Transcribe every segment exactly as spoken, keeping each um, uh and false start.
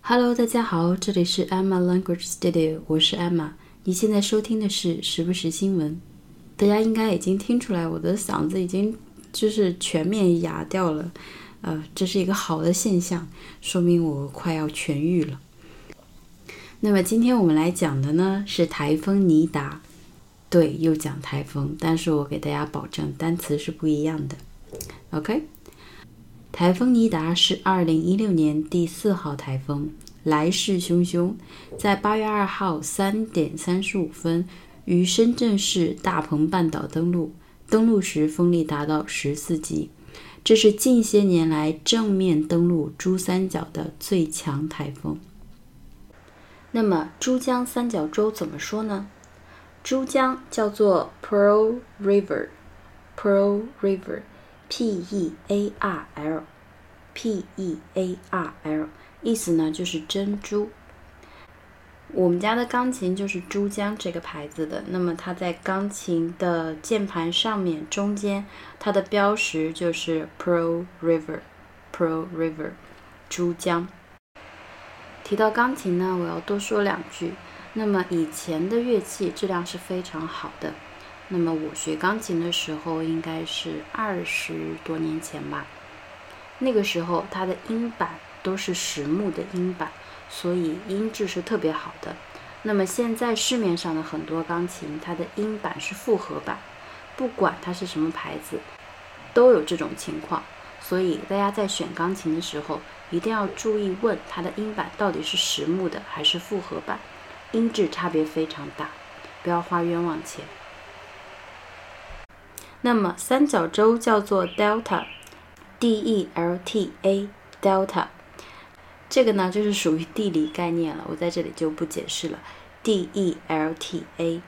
Hello， 大家好，这里是 Emma Language Studio， 我是 Emma。你现在收听的是时不时新闻。大家应该已经听出来，我的嗓子已经就是全面哑掉了，呃，这是一个好的现象，说明我快要痊愈了。那么今天我们来讲的呢是台风尼达，对，又讲台风，但是我给大家保证单词是不一样的。OK。台风尼达是二零一六年第四号台风，来势汹汹，在八月二号三点三十五分于深圳市大鹏半岛登陆，登陆时风力达到十四级，这是近些年来正面登陆珠三角的最强台风。那么珠江三角洲怎么说呢？珠江叫做 Pearl River Pearl River P E A R L P E A R L 意思呢就是珍珠。我们家的钢琴就是珠江这个牌子的，那么它在钢琴的键盘上面中间，它的标识就是 Pearl River Pearl River 珠江。提到钢琴呢，我要多说两句。那么以前的乐器质量是非常好的，那么我学钢琴的时候应该是二十多年前吧，那个时候它的音板都是实木的音板，所以音质是特别好的。那么现在市面上的很多钢琴，它的音板是复合板，不管它是什么牌子都有这种情况，所以大家在选钢琴的时候一定要注意问它的音板到底是实木的还是复合板，音质差别非常大，不要花冤枉钱。那么三角洲叫做 Delta D E L T A Delta， 这个呢就是属于地理概念了，我在这里就不解释了。 D E L T A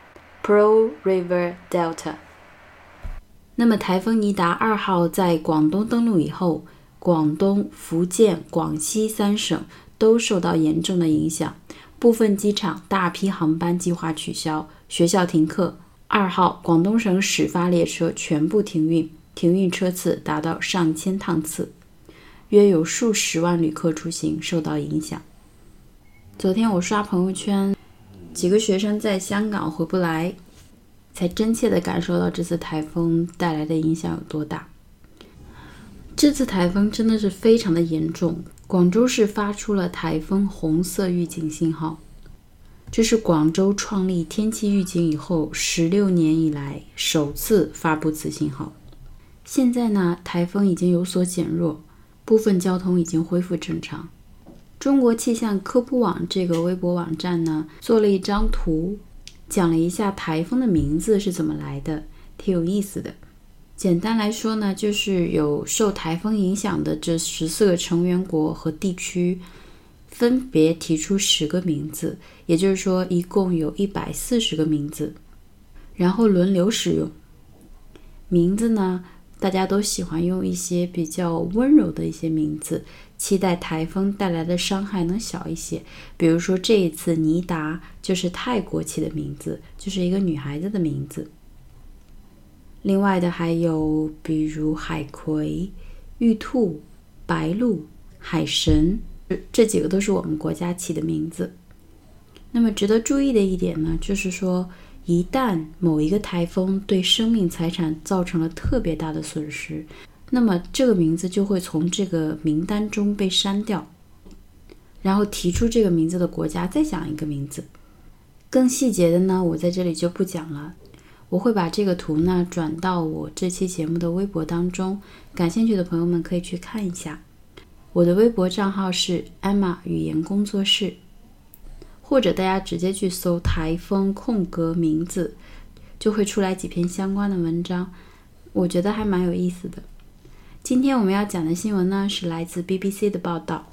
Pearl River Delta。 那么台风尼达二号在广东登陆以后，广东、福建、广西三省都受到严重的影响，部分机场大批航班计划取消，学校停课。二号广东省始发列车全部停运，停运车次达到上千趟次，约有数十万旅客出行受到影响。昨天我刷朋友圈，几个学生在香港回不来，才真切地感受到这次台风带来的影响有多大。这次台风真的是非常的严重，广州市发出了台风红色预警信号，这是广州创立天气预警以后十六年以来首次发布此信号。现在呢，台风已经有所减弱，部分交通已经恢复正常。中国气象科普网这个微博网站呢，做了一张图，讲了一下台风的名字是怎么来的，挺有意思的。简单来说呢，就是有受台风影响的这十四个成员国和地区，分别提出十个名字，也就是说一共有一百四十个名字，然后轮流使用。名字呢，大家都喜欢用一些比较温柔的一些名字，期待台风带来的伤害能小一些。比如说这一次尼达就是泰国起的名字，就是一个女孩子的名字。另外的还有比如海葵、玉兔、白鹭、海神，这几个都是我们国家起的名字。那么值得注意的一点呢，就是说一旦某一个台风对生命财产造成了特别大的损失，那么这个名字就会从这个名单中被删掉，然后提出这个名字的国家再讲一个名字。更细节的呢，我在这里就不讲了，我会把这个图呢转到我这期节目的微博当中，感兴趣的朋友们可以去看一下。我的微博账号是 Emma 语言工作室，或者大家直接去搜台风空格名字，就会出来几篇相关的文章，我觉得还蛮有意思的。今天我们要讲的新闻呢，是来自 B B C 的报道。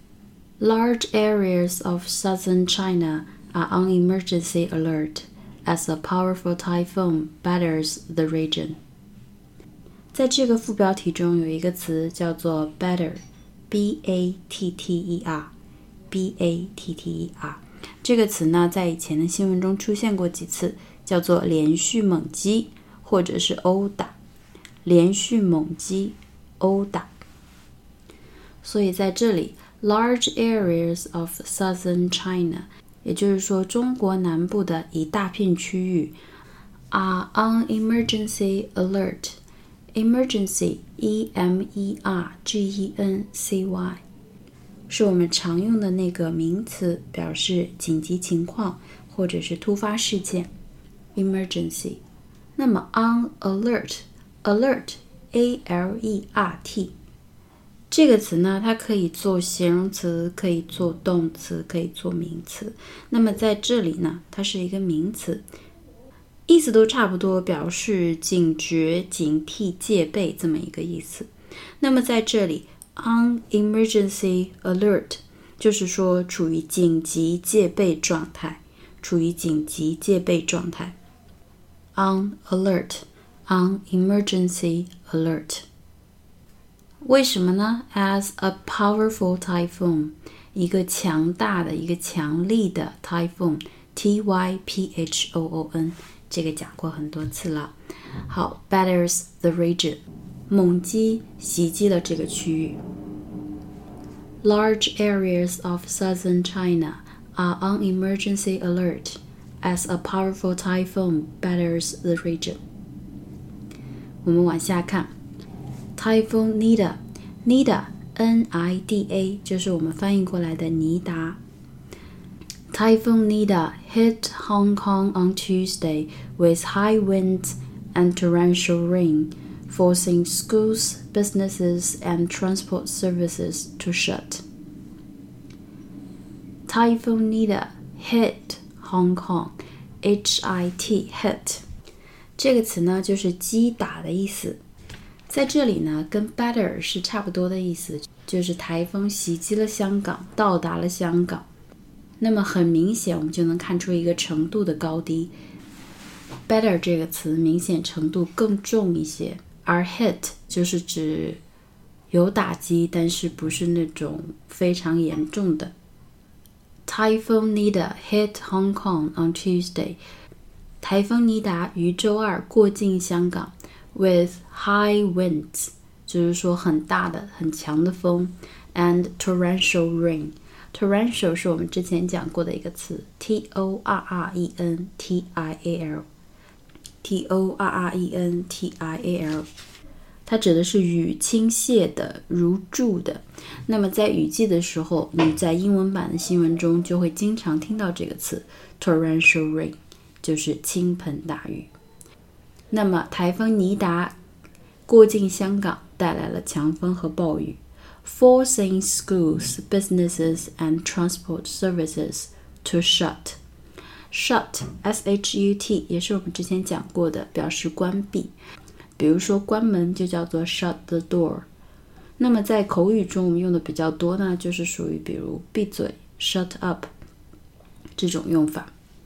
Large areas of southern China are on emergency alert as a powerful typhoon batters the region。 在这个副标题中有一个词叫做 batter B A T T E R B A T T E R， 这个词呢在以前的新闻中出现过几次，叫做连续猛击或者是殴打，连续猛击殴打。所以在这里 large areas of southern China， 也就是说中国南部的一大片区域 are on emergency alert. Emergency, E M E R G E N C Y 是我们常用的那个名词，表示紧急情况或者是突发事件 Emergency。 那么 on alert Alert A L E R T 这个词呢，它可以做形容词，可以做动词，可以做名词。那么在这里呢，它是一个名词，意思都差不多，表示警觉、警惕、戒备这么一个意思。那么在这里 on emergency alert 就是说处于紧急戒备状态，处于紧急戒备状态 on alert on emergency alert。 为什么呢？ As a powerful typhoon 一个强大的一个强力的 typhoon T Y P H O O N 这个讲过很多次了。好 batters the region 猛击袭击了这个区域。 Large areas of southern China are on emergency alert as a powerful typhoon batters the region。 我们往下看 Typhoon Nida Nida N I D A 就是我们翻译过来的尼达。 Typhoon Nida hit Hong Kong on Tuesday with high winds and torrential rain, forcing schools, businesses, and transport services to shut. Typhoon Nida hit Hong Kong, H I T hit 这个词呢就是击打的意思，在这里呢跟 batter 是差不多的意思，就是台风袭击了香港，到达了香港。那么很明显我们就能看出一个程度的高低， batter 这个词明显程度更重一些，而 hit 就是指有打击，但是不是那种非常严重的。 Typhoon Nida hit Hong Kong on Tuesday， 台风尼达于周二过境香港 with high winds 就是说很大的很强的风 and torrential rain。 torrential 是我们之前讲过的一个词 T O R R E N T I A L T O R R E N T I A L 它指的是雨倾泻的如注的。那么在雨季的时候，你在英文版的新闻中就会经常听到这个词 torrential rain， 就是倾盆大雨。那么台风尼达过境香港，带来了强风和暴雨， forcing schools, businesses and transport services to shut. Shut, S H U T 也是我们之前讲过的，表示关闭。比如说关门就叫做 shut the door。 那么在口语中我们用的比较多呢，就是属于比如闭嘴 shut up 这种用法。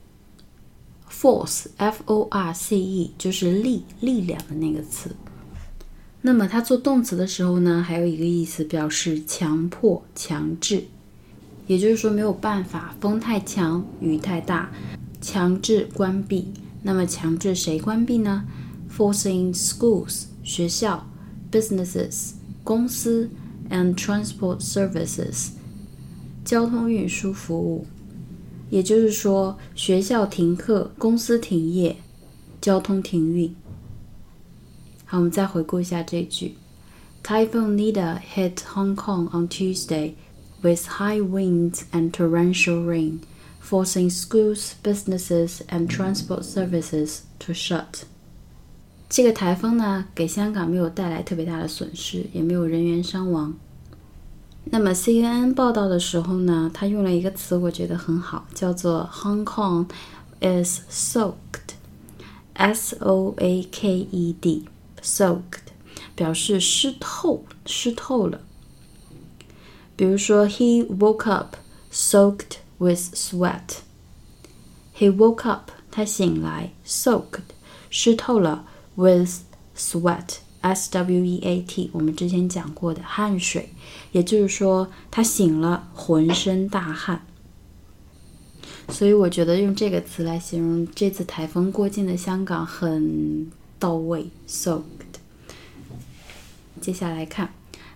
Force, F O R C E 就是力力量的那个词。那么它做动词的时候呢，还有一个意思表示强迫强制，也就是说没有办法，风太强雨太大，强制关闭。那么强制谁关闭呢？ Forcing schools 学校 businesses 公司 and transport services 交通运输服务。也就是说学校停课，公司停业，交通停运。好，我们再回顾一下这句 Typhoon Nida hit Hong Kong on Tuesday with high winds and torrential rain, forcing schools, businesses and transport services to shut. 这个台风呢，给香港没有带来特别大的损失，也没有人员伤亡。那么 C N N 报道的时候呢，他用了一个词我觉得很好，叫做 Hong Kong is soaked, S O A K E D, soaked 表示湿透，湿透了。比如说 He woke up soaked with sweat. He woke up 他醒来 soaked 湿透了 with sweat, S W E A T 我们之前讲过的汗水，也就是说他醒了浑身大汗。所以我觉得用这个词来形容这次台风过境的香港很到位 soaked。 接下来看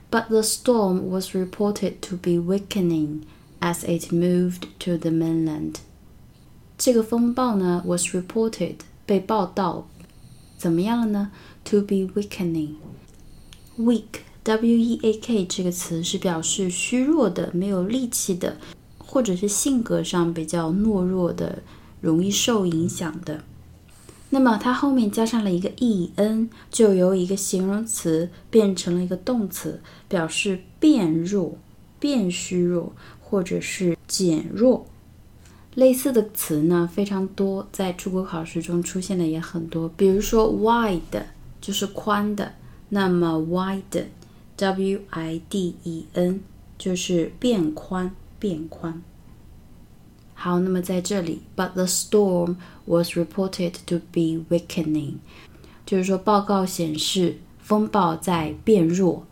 But the storm was reported to be weakening as it moved to the mainland. 这个风暴呢 was reported 被报道怎么样了呢 To be weakening. Weak, W E A K 这个词是表示虚弱的、没有力气的，或者是性格上比较懦弱的，容易受影响的。那么它后面加上了一个 en， 就由一个形容词变成了一个动词，表示变弱、变虚弱或者是减弱。类似的词呢非常多，在出国考试中出现的也很多，比如说 wide 就是宽的，那么 widen W I D E N 就是变宽变宽。好，那么在这里 But the storm was reported to be weakening， 就是说报告显示风暴在变弱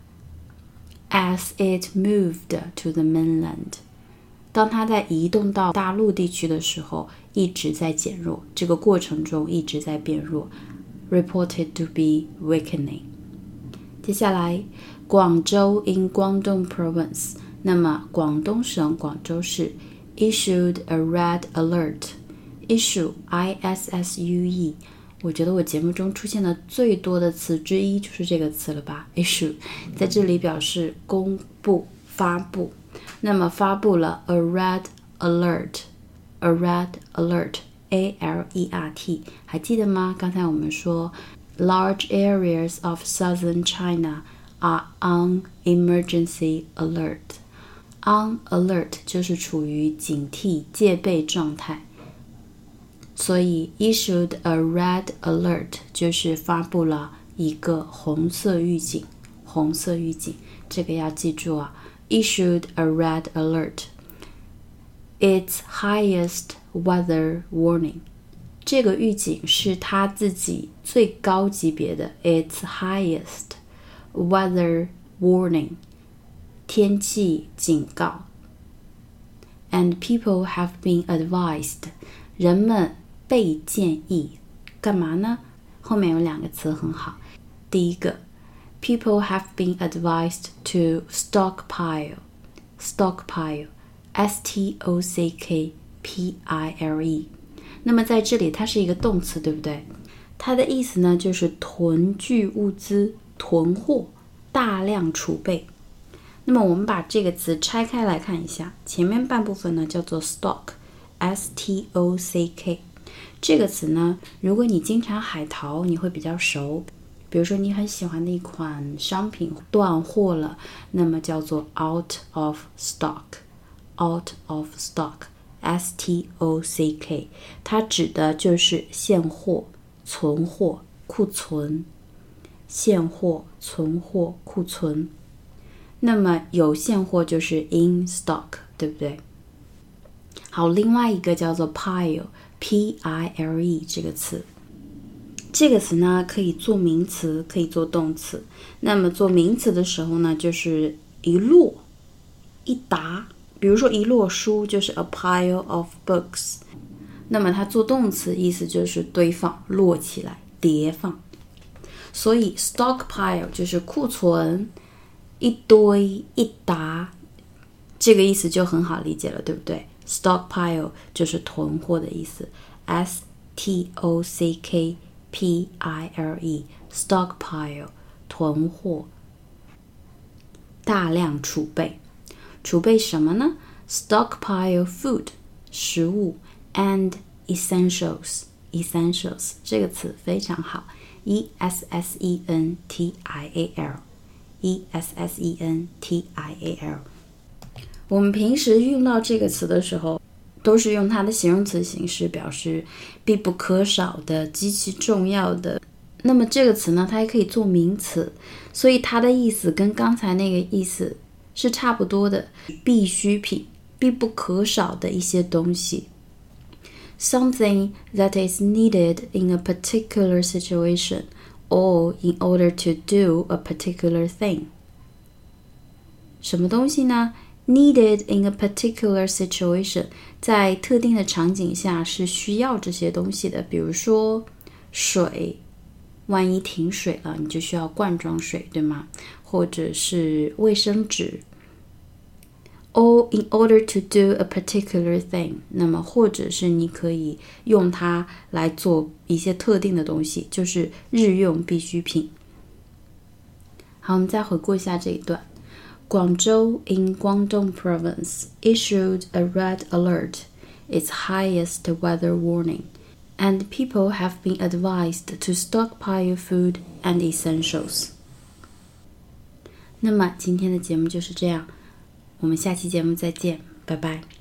As it moved to the mainland， 当它在移动到大陆地区的时候一直在减弱，这个过程中一直在变弱 Reported to be weakening。 接下来广州 in Guangdong province， 那么广东省广州市issued a red alert. Issue, I S S U E， 我觉得我节目中出现的最多的词之一就是这个词了吧 Issue， 在这里表示公布发布，那么发布了 a red alert A red alert A L E R T， 还记得吗？刚才我们说 Large areas of southern China are on emergency alert。On alert 就是处于警惕戒备状态，所以 issued a red alert 就是发布了一个红色预警，红色预警，这个要记住啊 issued a red alert Its highest weather warning， 这个预警是它自己最高级别的 Its highest weather warning天气警告 And people have been advised 人们被建议干嘛呢？后面有两个词很好，第一个 People have been advised to stockpile Stockpile S T O C K P I L E， 那么在这里它是一个动词对不对？它的意思呢就是囤聚物资，囤货，大量储备。那么我们把这个词拆开来看一下，前面半部分呢叫做 stock S T O C K， 这个词呢如果你经常海淘你会比较熟，比如说你很喜欢的一款商品断货了，那么叫做 out of stock out of stock S T O C K， 它指的就是现货、存货、库存，现货、存货、库存。那么有现货就是 in stock， 对不对？好，另外一个叫做 pile P I L E 这个词，这个词呢可以做名词，可以做动词。那么做名词的时候呢，就是一摞、一沓，比如说一摞书就是 a pile of books。那么它做动词意思就是堆放、摞起来、叠放。所以 stockpile 就是库存。一堆一沓，这个意思就很好理解了，对不对？ Stockpile 就是囤货的意思 S T O C K P I L E Stockpile 囤货，大量储备。储备什么呢？ Stockpile food 食物 and essentials Essentials 这个词非常好 E S S E N T I A L E S S E N T I A L。 我们平时用到这个词的时候都是用它的形容词形式表示必不可少的、极其重要的。那么这个词呢它还可以做名词，所以它的意思跟刚才那个意思是差不多的，必需品、必不可少的一些东西。 Something that is needed in a particular situation or in order to do a particular thing。 什么东西呢？ Needed in a particular situation， 在特定的场景下是需要这些东西的，比如说水，万一停水了你就需要罐装水，对吗？ 或者是卫生纸。Or in order to do a particular thing， 那么或者是你可以用它来做一些特定的东西，就是日用必需品。好，我们再回顾一下这一段。Guangzhou in Guangdong Province issued a red alert, its highest weather warning, and people have been advised to stockpile food and essentials. 那么今天的节目就是这样，我们下期节目再见，拜拜。